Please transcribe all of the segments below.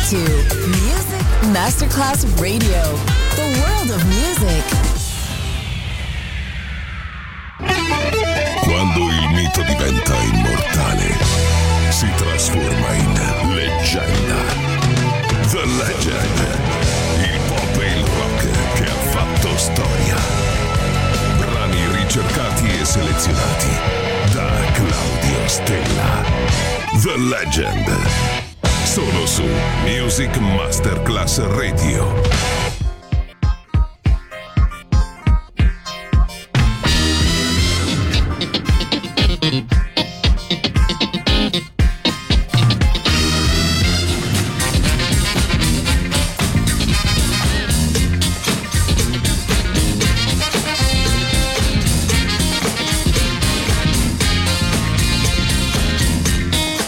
to Music Masterclass Radio, the world of music. Quando il mito diventa immortale, si trasforma in leggenda. The Legend, il pop e il rock che ha fatto storia. Brani ricercati e selezionati da Claudio Stella. The Legend, solo su Music Masterclass Radio.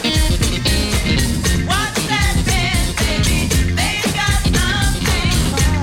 What's that, baby? They got nothing.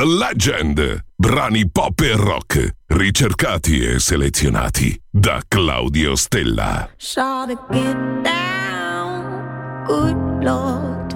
The Legend. Brani pop e rock, ricercati e selezionati da Claudio Stella. Shall to get down, good Lord.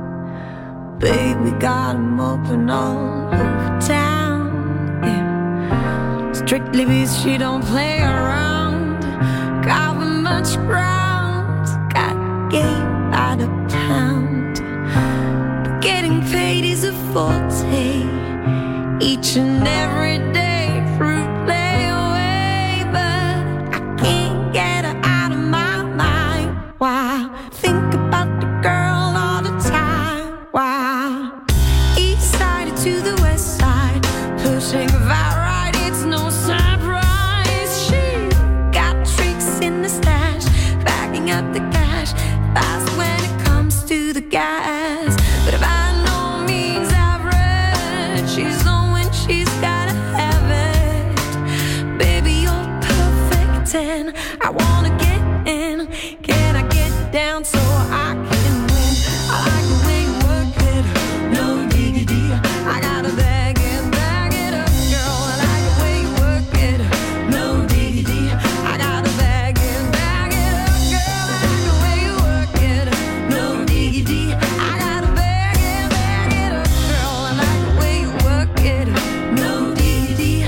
Baby got 'em open all over town. Yeah. Strictly because she don't play around. Cover much ground, got game out of town. But getting paid is a forte. Each and every day, fruit play away, but I can't get her out of my mind. Why? Think about the girl all the time. Why? East side to the west side, pushing far right, it's no surprise. She got tricks in the stash, backing up the cash, fast when it comes to the gas. But if I no means average, she's on when she's gotta have it. Baby, you're perfect and I wanna get in. Can I get down so I can win? I like the way you work it, no diggity. I gotta bag it up, girl. I like the way you work it, no diggity. I gotta bag it up, girl. I like the way you work it, no diggity. I gotta bag it up, girl. I like the way you work it, no diggity,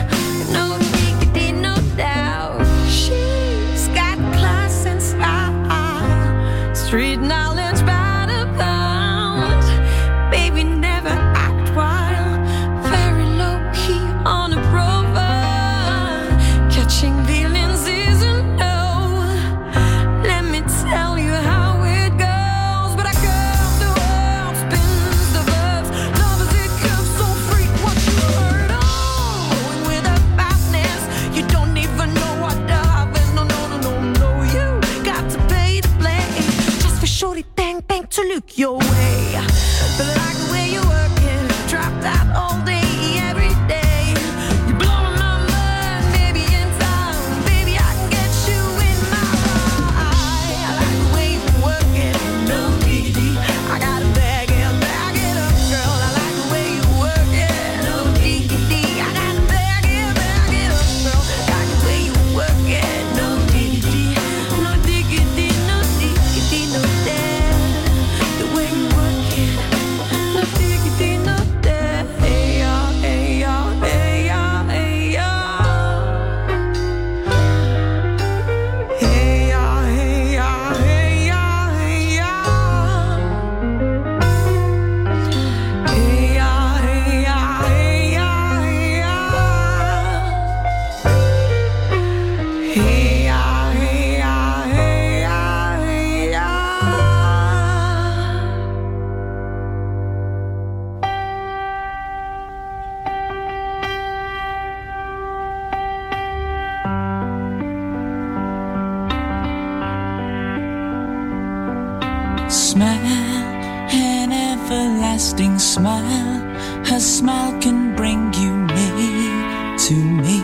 no doubt. She's got class and style, street knowledge by the pound. Baby never act wild, very low key on a profile. Catching feelings is a no. Let me tell you how it goes. But I curve the world, spins the verbs. Love is it curves so free, what you heard. Oh, going with a fastness, you don't even know what to have. No. You got to pay to play, just for shorty bang bang to look your way. But I like the way you work it, drop that all day, every day. You're blowing my mind, baby, in time. Baby, I can get you in my ride. I like the way you work it, no diggity. I gotta bag it up, girl. I like the way you work it, no diggity. I gotta bag it up, girl. I like the way you work it, no diggity. No diggity, no dead. The way you work it, no diggity, no dead. Hey, yeah, hey, yeah, hey, yeah, hey, yeah. Hey, yeah, hey, yeah, hey, yeah, hey, yeah. Hey, yeah, hey, yeah, hey, yeah, hey, yeah. Hey, yeah, hey, yeah, hey, yeah, hey, yeah. Smile, an everlasting smile. Her smile can bring you near to me.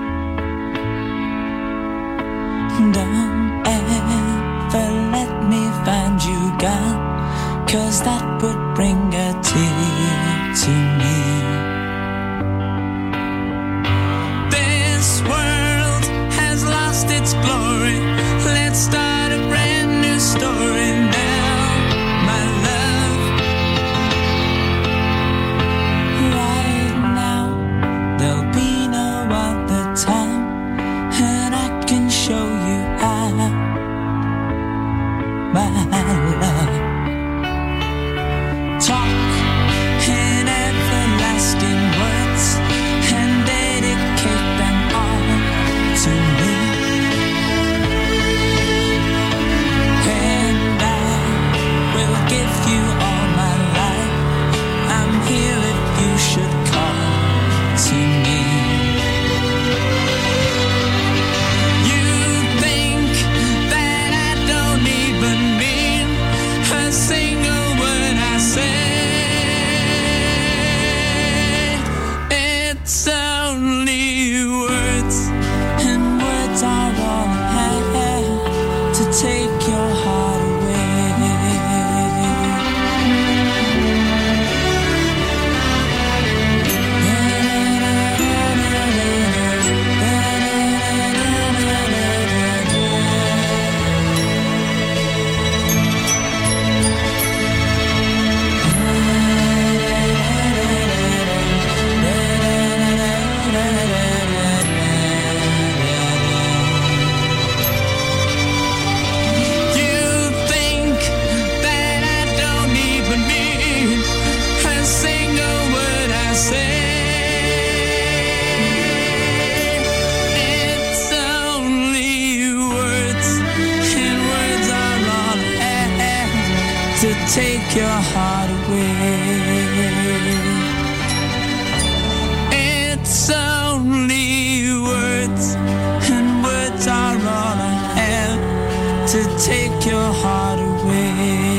Don't ever let me find you gone, 'cause that would bring a tear to me. This world has lost its glory. Let's start a brand new story now, my love. Right now, there'll be no other time, and I can show you how, my love. Talk in everlasting words and dedicate them all to me. your heart away. It's only words, and words are all I have to take your heart away.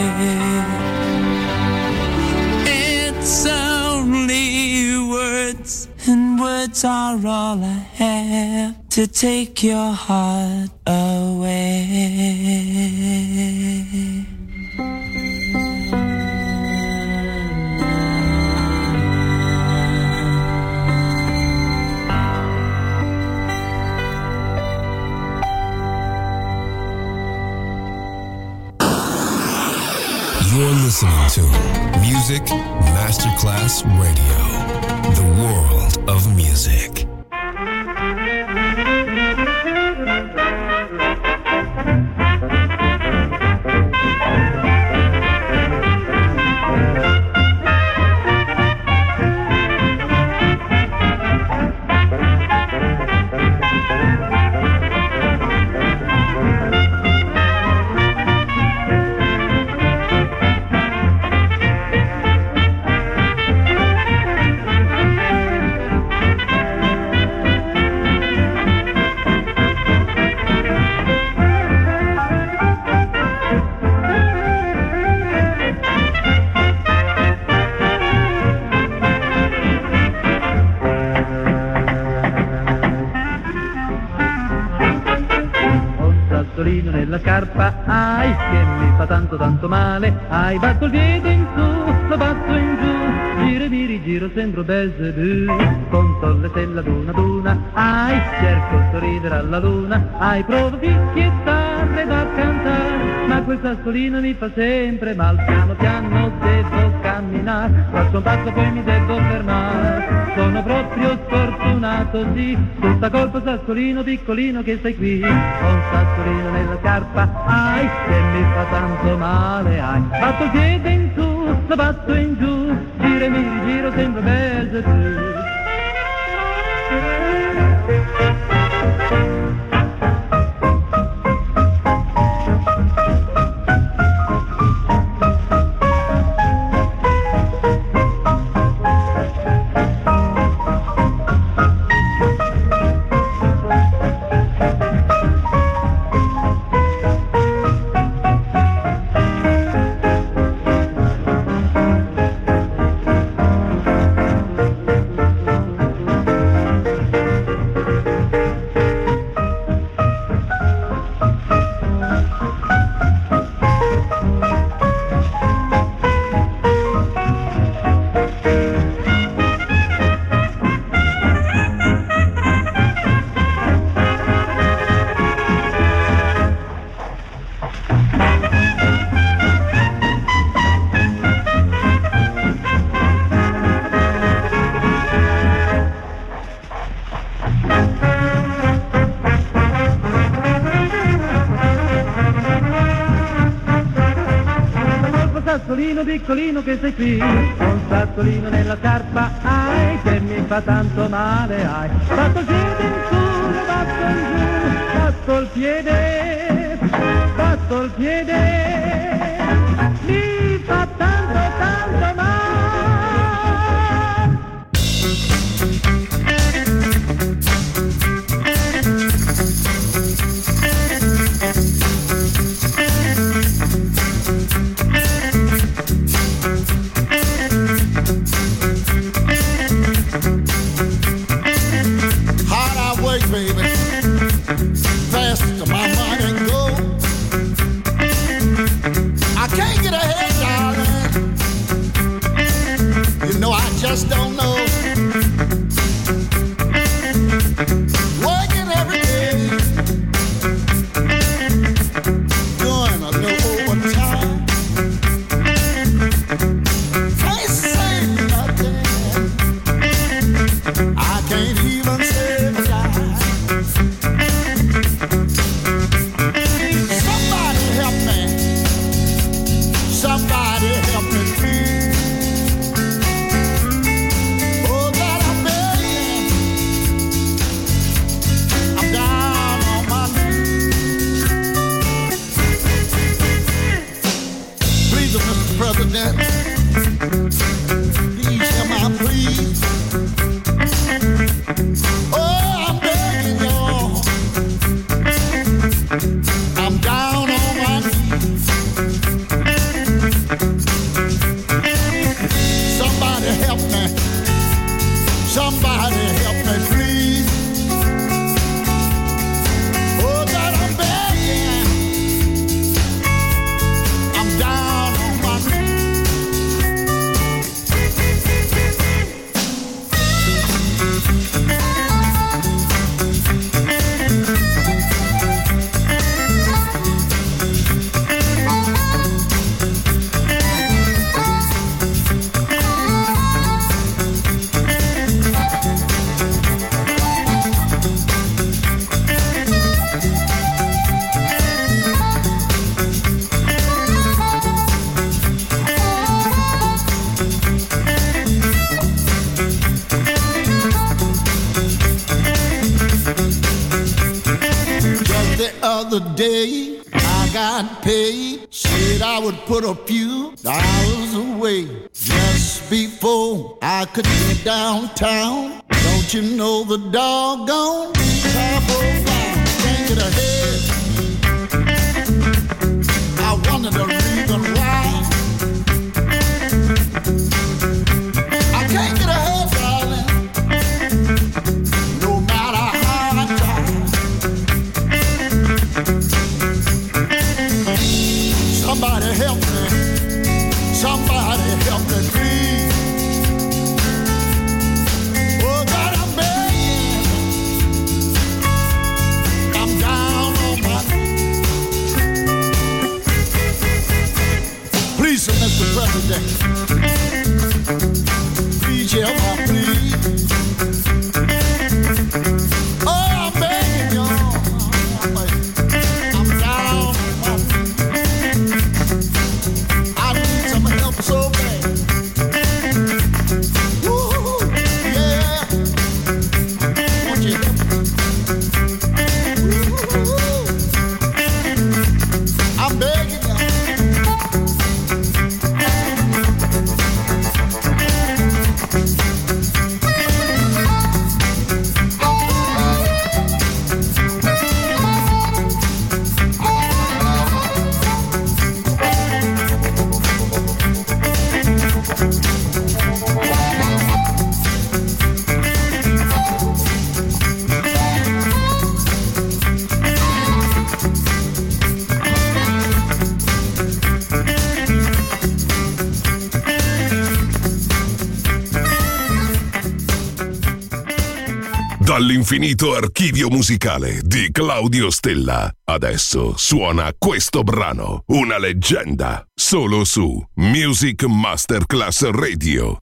It's only words, and words are all I have to take your heart away. You're listening to Music Masterclass Radio, the world of music. Nella scarpa, ai, che mi fa tanto tanto male, ai, batto il piede in su, lo batto in giù, giro mi rigiro, sembro Belzebù, conto le stelle ad una, ai, cerco di sorridere alla luna, ai, provo fischiettarle da cantare, ma quel sassolino mi fa sempre mal, piano piano devo camminare, faccio un passo poi mi devo fermare, sono proprio sfortunato, sì, tutta colpa sassolino piccolino che stai qui, ho un sassolino nella scarpa, ai, che mi fa tanto male, ai, batto il piede in su, lo batto in giù, giro e mi rigiro, sembra Belzebù. Piccolino che sei qui, un sassolino nella scarpa, ai, che mi fa tanto male, ai, batto il piede in su, batto in giù, batto il piede, mi fa tanto tanto male. I can't get ahead. other day, I got paid. Said I would put a few dollars away just before I could get downtown. Don't you know the doggone top of round can't get ahead? I wonder the reason why. I can't get ahead, darling, no matter how I try. Somebody help me. Somebody help me, please. Oh, God, I'm begging. I'm down on my knees. Please, Mr. President. Please help me, please. Oh, I'm begging y'all. I'm down on my knees. I need some help so bad. Woo, yeah. Won't you help me? Woo, I'm begging y'all. Dall'infinito archivio musicale di Claudio Stella. Adesso suona questo brano, una leggenda, solo su Music Masterclass Radio.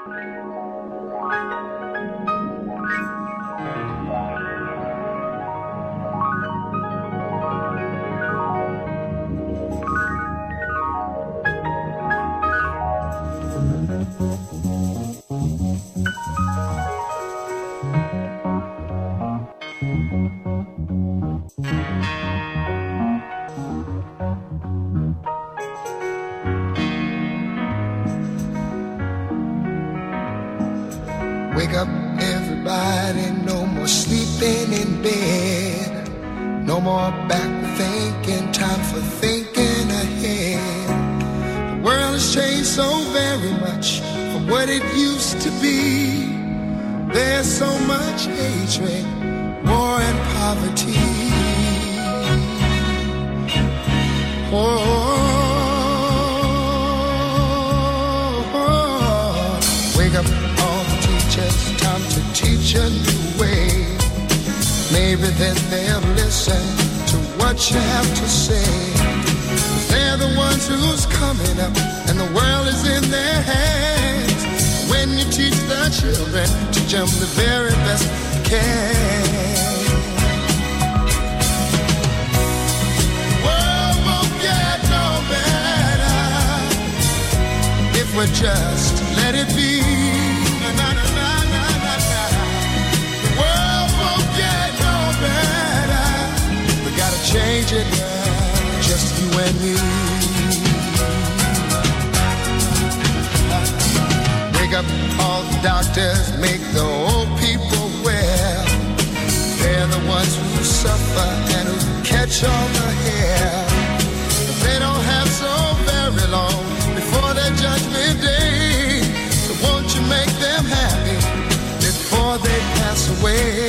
Wake up, everybody, no more sleeping in bed. No more back thinking, time for thinking ahead. The world has changed so very much from what it used to be. There's so much hatred, war and poverty. Wake up, all the teachers, time to teach a new way. Maybe then they'll listen to what you have to say. They're the ones who's coming up, and the world is in their hands. When you teach the children, teach them the very best you can. The world won't get no better if we just let it be. Na, na, na, na, na, na, na. The world won't get no better. We gotta change it now, just you and me. Wake up, all the doctors, make the old people well. They're the ones who suffer and who catch all the hair. But they don't have so very long before their judgment day. So won't you make them happy before they pass away?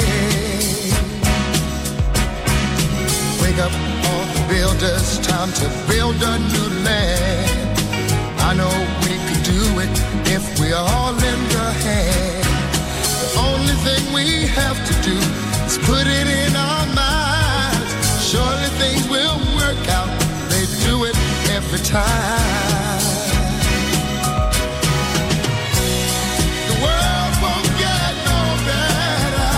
Wake up, all the builders, time to build a new land. I know we could do it if we all lend a hand. The only thing we have to do is put it in our minds. Surely things will work out. They do it every time. The world won't get no better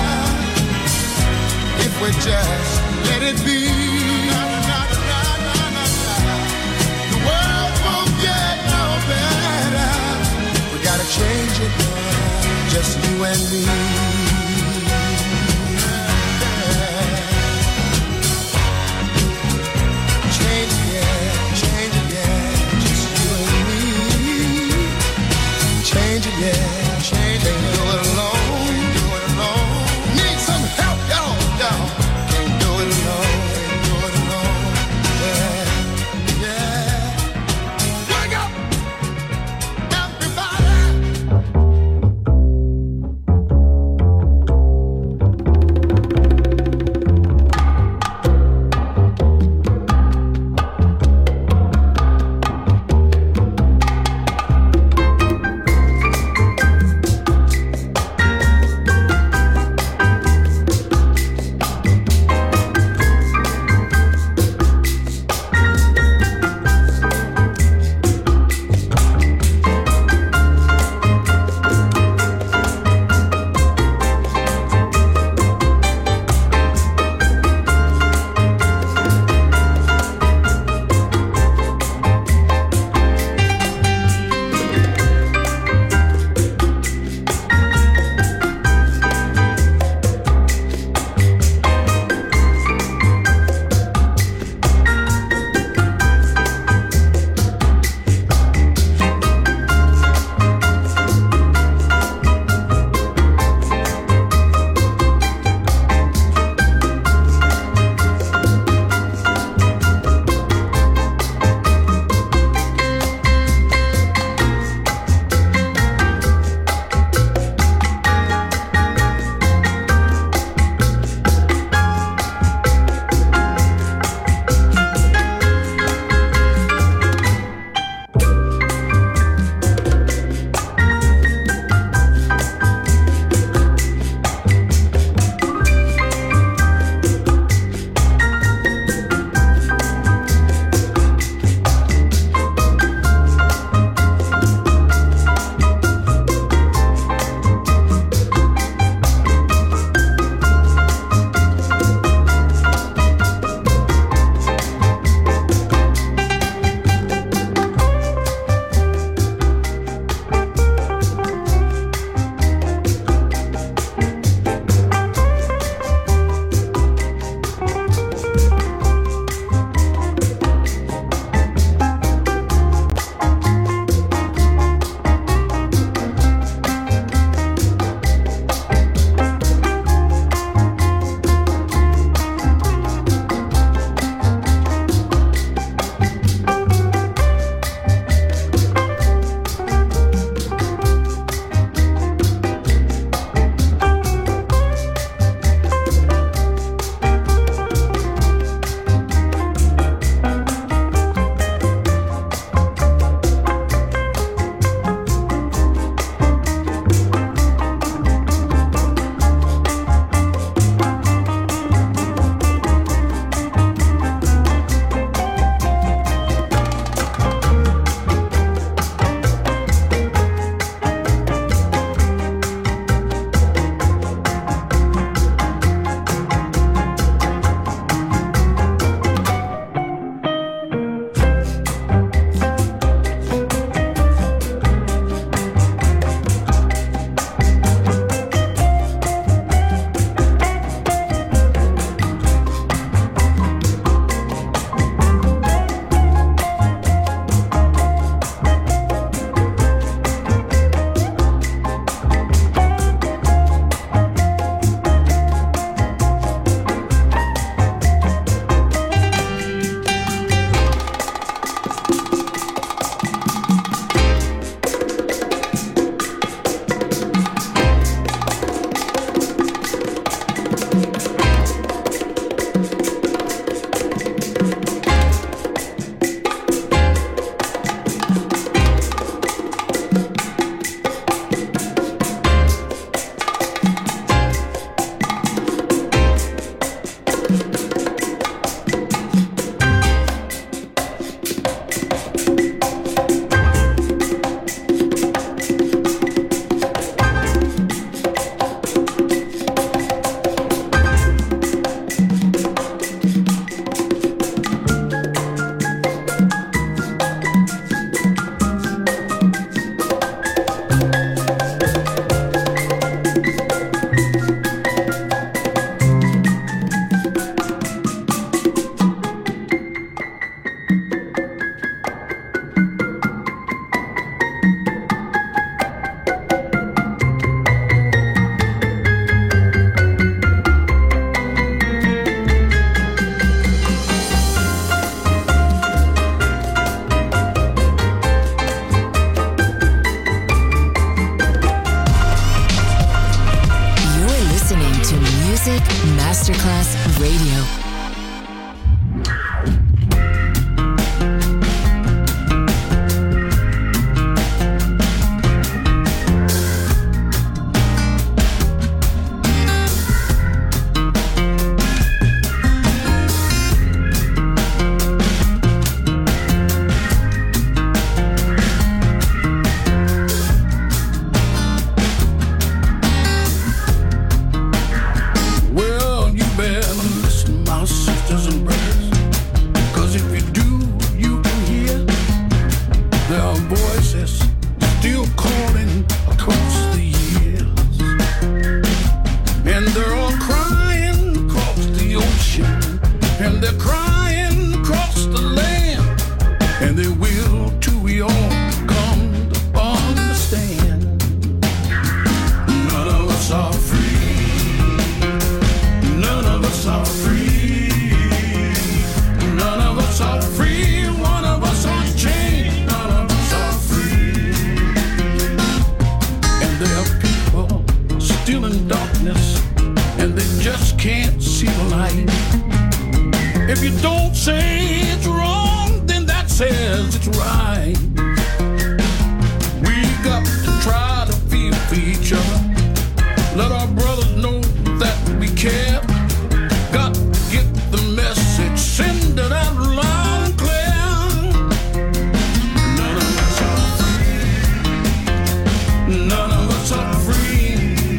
if we just let it be. The world won't get no better. We gotta change it now, just you and me. crying across the land, and they will too, we all come to understand. None of us are free. None of us are free. None of us are free. One of us are chained. None of us are free. And there are people still in darkness, and they just can't see the light. If you don't say it's wrong, then that says it's right. We got to try to feel for each other. Let our brothers know that we care. Got to get the message, send it out loud and clear. None of us are free. None of us are free.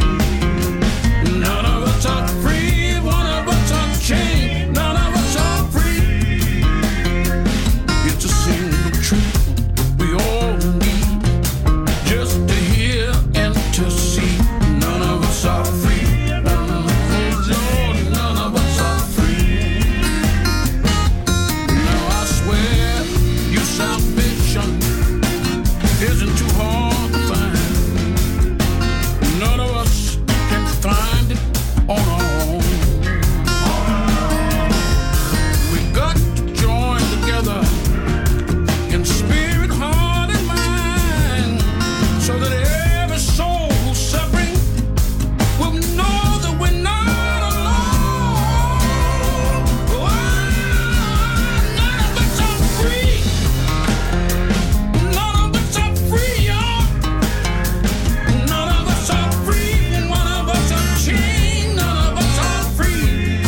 None of us are free. One of us are chained. None of us are free. It's a single truth we all need, just to hear and to see. None of us are free. None of us are free. Now I swear your salvation isn't too hard to find. None of us can find it on our own. We got to join together in spirit, heart, and mind, so that every soul who's suffering will know that we're not alone. None of us are free. None of us are free, y'all. None of us are free. One of us are chained. None of us are free.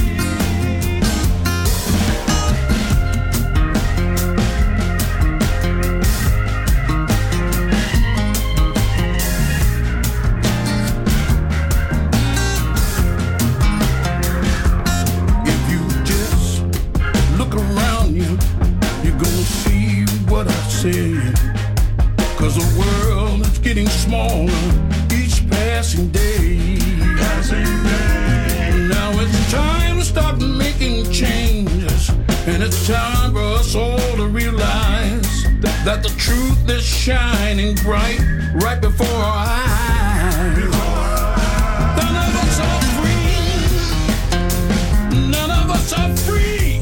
If you just look around you, you're gonna see what I said. 'Cause the world is getting smaller each passing day. Now it's time to start making changes, and it's time for us all to realize that the truth is shining bright right before our eyes. None of us are free. None of us are free.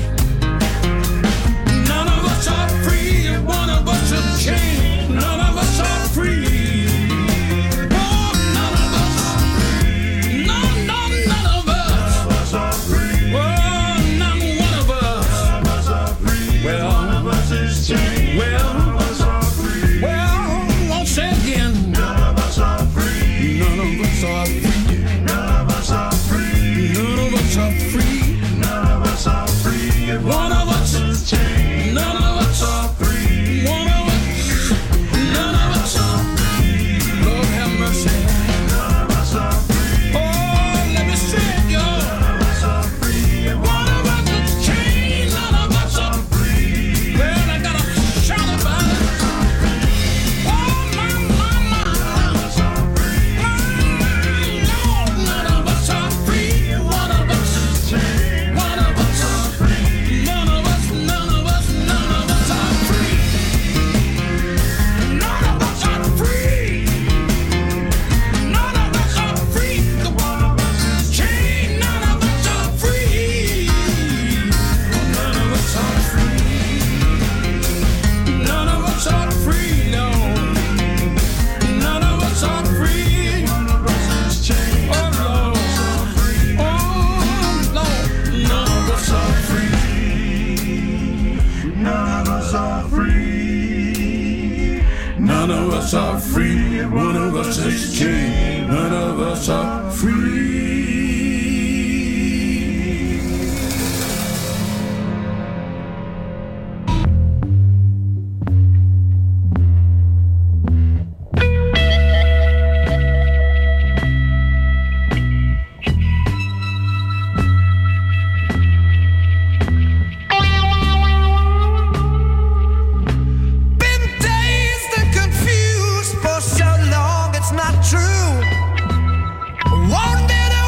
None of us are free. One of us is chained. None of us are free. Oh, none of us. None of us. Oh, not one of us. Well, I'll say again. None of us are free. None of us are free. None of us are free. None of us are free. None of us are free. One of us is chained. None of us are free. One of us. None of us are free. Lord have mercy. None of us are free. Oh, let me say it, y'all. None of us are free. One of us is chained. None of us are free. Well, I gotta shout about it. Oh, my. None of us are free. Lord, none of us are free. One of us is chained. One of us are free. None of us are free. None of us are free. None of us are free. The one of us is chained. None of us are free. None of us are free. None of us are free. No. None of us are free. One of us is chained. Oh Lord. Oh Lord. None of us are free. None of us are free. None of us are free. One of us is chained. None of us are free. Been dazed and confused for so long, it's not true. Won't it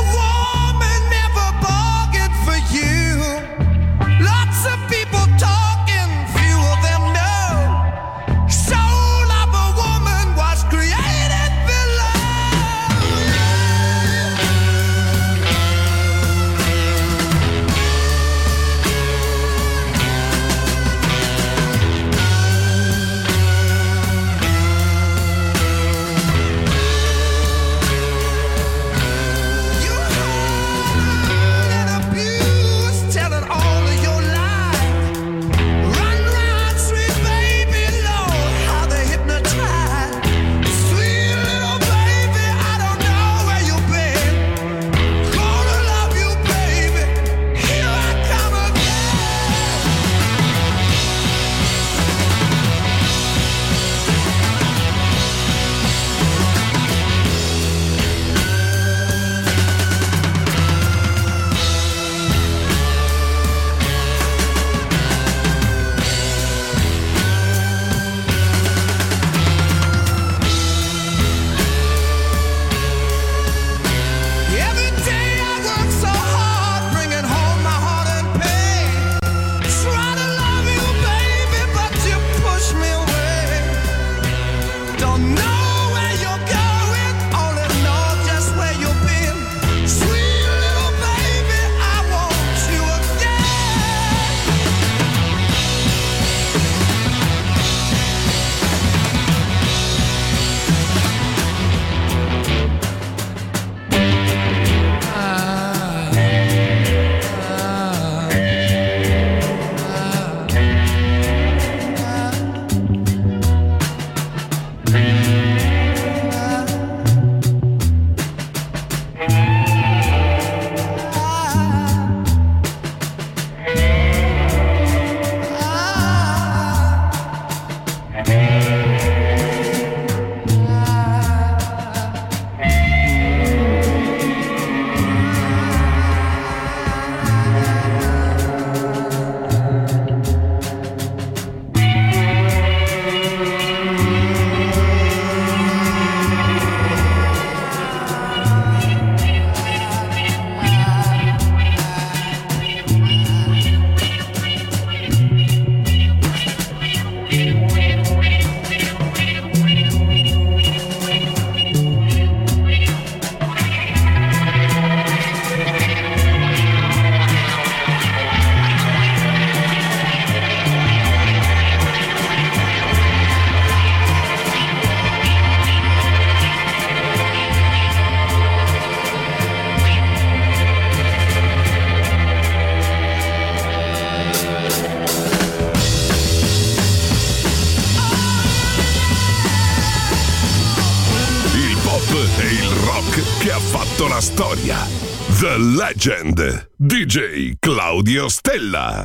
che ha fatto la storia. The Legend, DJ Claudio Stella.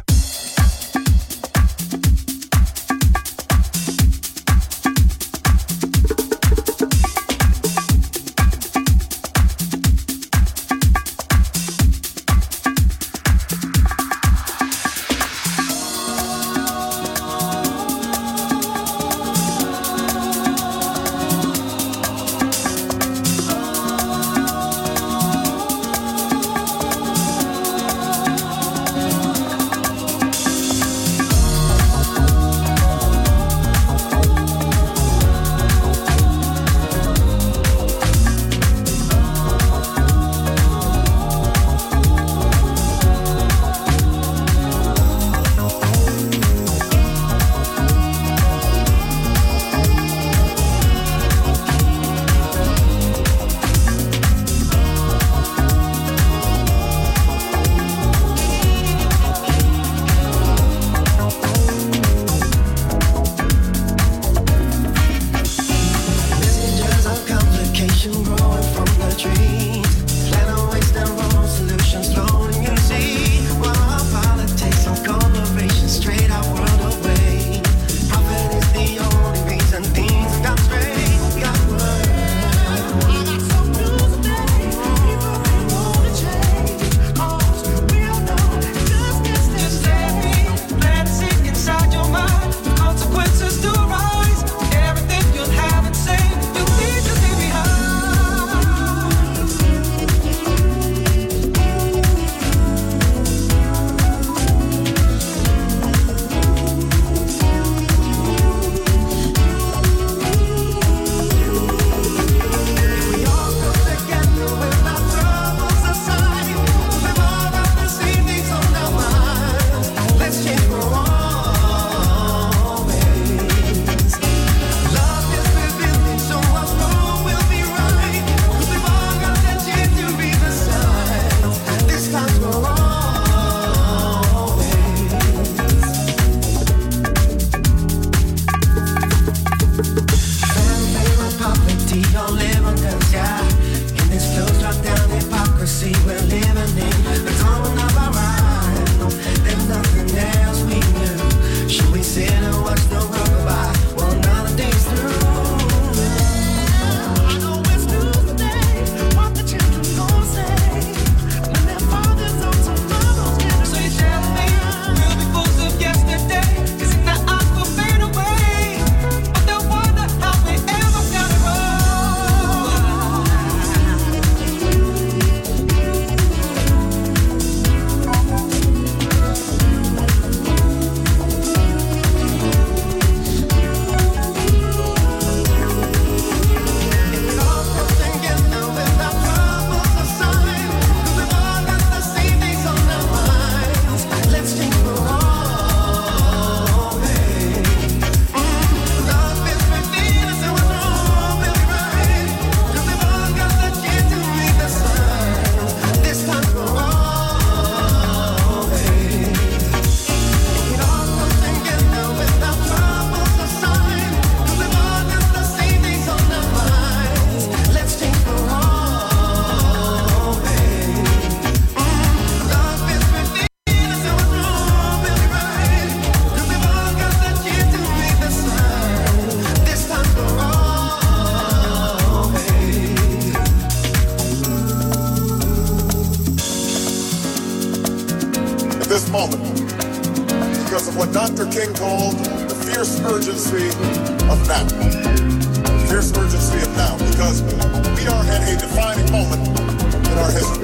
because of what Dr. King called the fierce urgency of now. Fierce urgency of now, because we are at a defining moment in our history.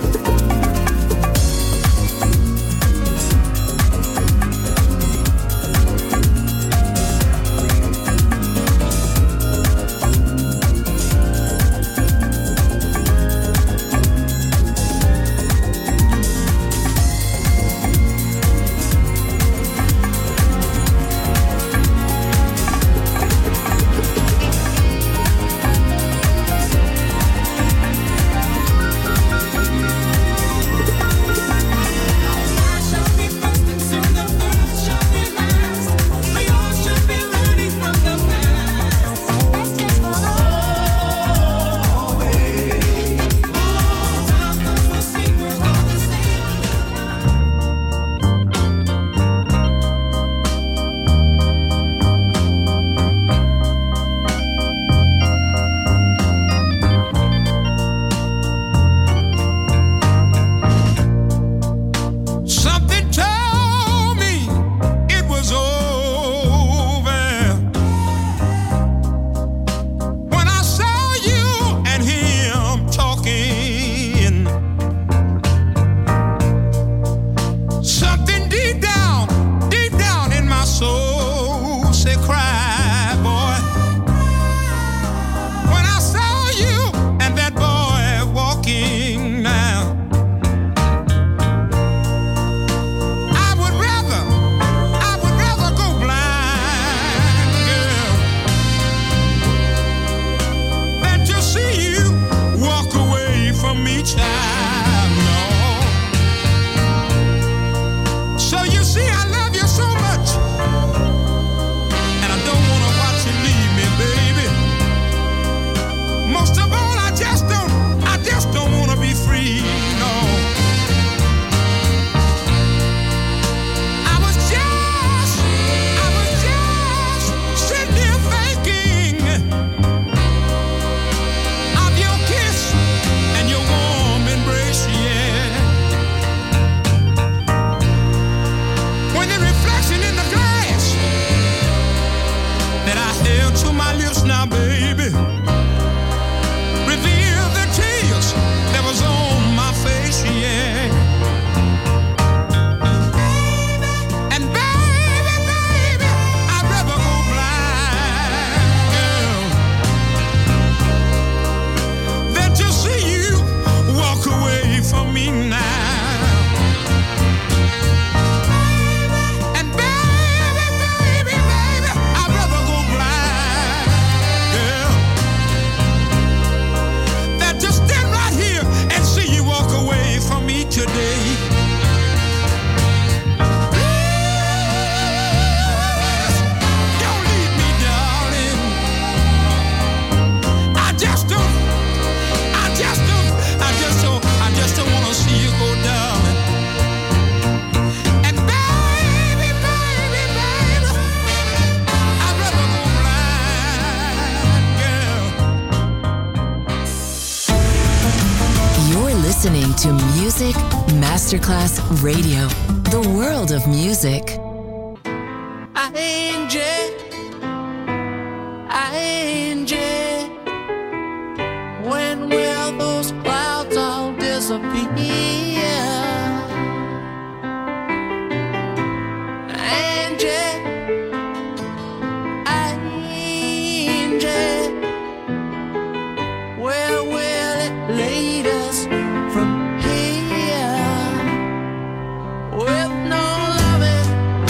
To Music Masterclass Radio, the world of music. When will those clouds all disappear? Where will it lead us from here? With no loving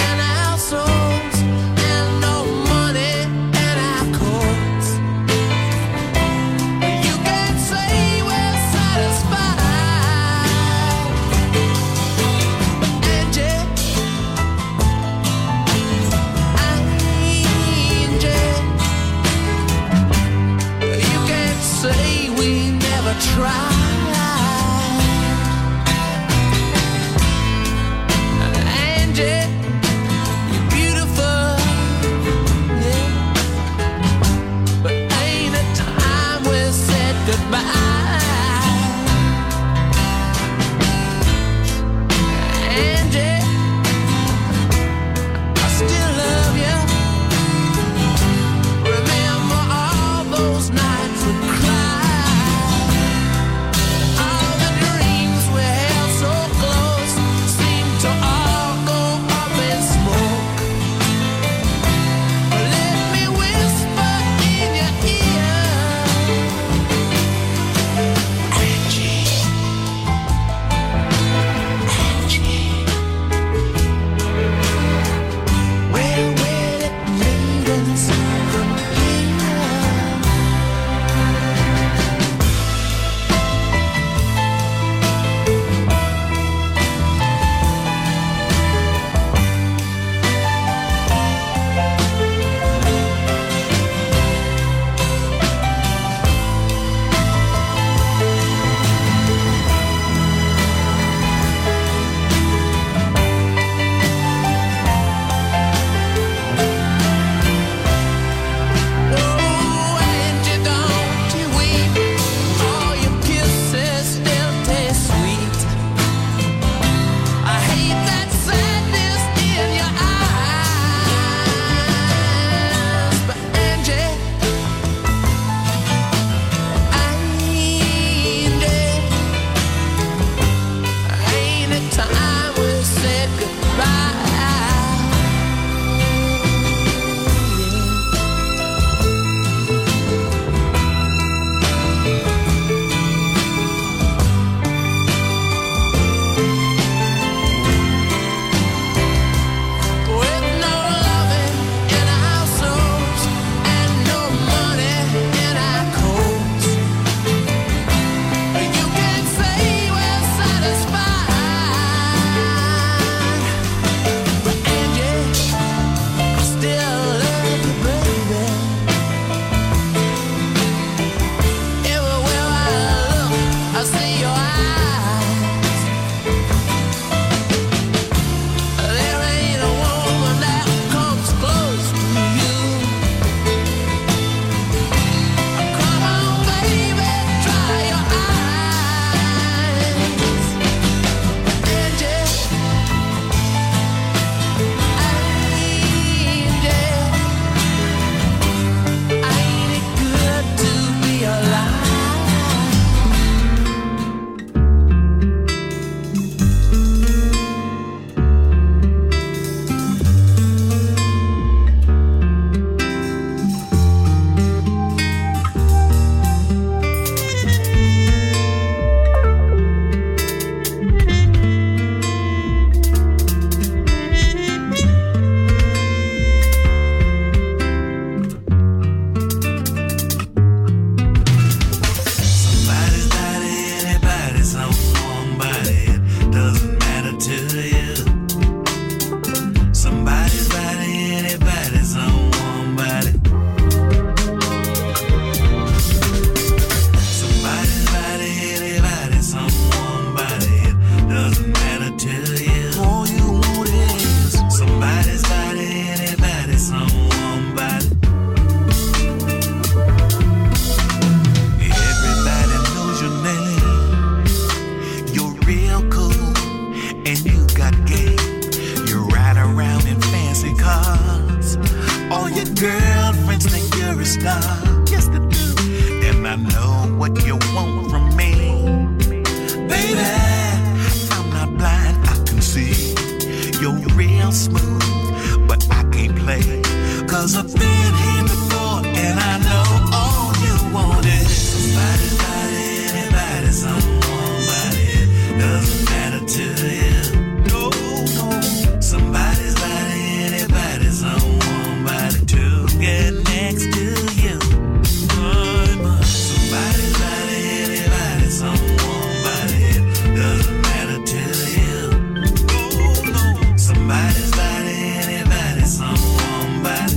love. Yes, they do. And I know what you want from me. Baby, I'm not blind, I can see. You're real smooth, but I can't play. 'Cause I've been here before, and I know all you want is somebody's body, anybody's somebody. Doesn't matter to you. No, no. Somebody's body, anybody's somebody to get next to you. Somebody's body, anybody's somebody. Doesn't matter to you. No, no. Somebody's body, anybody's somebody.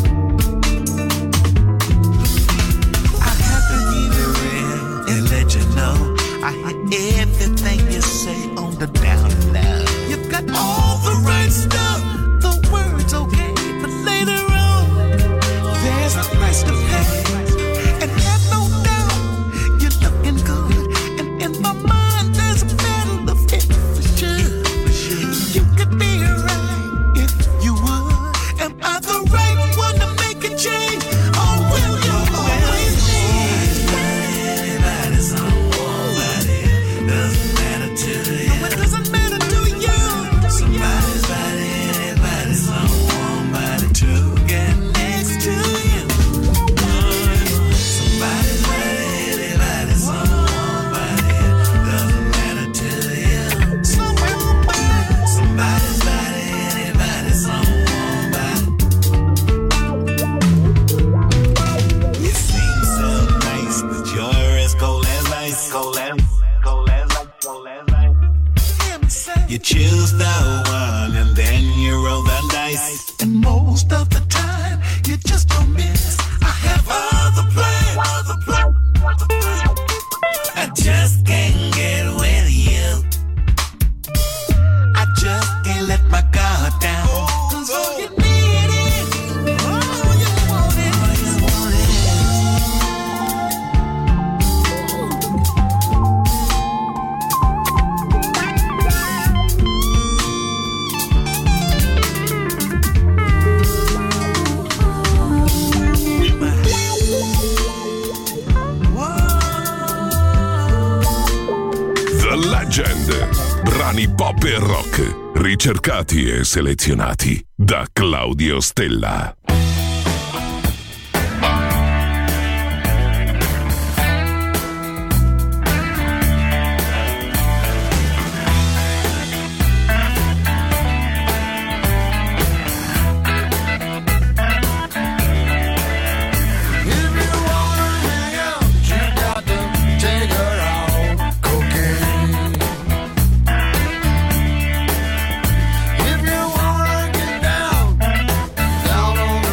I have to keep it real and let you know I hear everything you say on the down low. You've got all the right stuff, the words okay, but later on there's a price to pay. And have no doubt you're looking good, and in my mind there's a battle of it for sure. You could be right if you would. Am I the right one to make a change? Or will you always be? Anybody's somebody. Doesn't matter to you. No, it doesn't matter to you. Somebody's body, anybody's somebody to get next to you. Somebody's body, anybody's somebody. Doesn't matter to you. Somebody's body, anybody's somebody. You seem so nice, but you're as cold as ice. Cold as ice. You choose the one and then you roll the dice. And most of the time, you just don't miss. I have other plans. I just can't get with you. I just can't let my guard down. 'Cause all you need is, all you want is, all you want is. The Legend. Brani pop e rock, ricercati e selezionati da Claudio Stella. Down on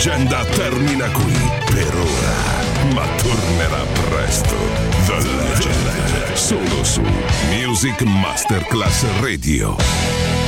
leggenda termina qui per ora, ma tornerà presto. The Legend, solo su Music Masterclass Radio.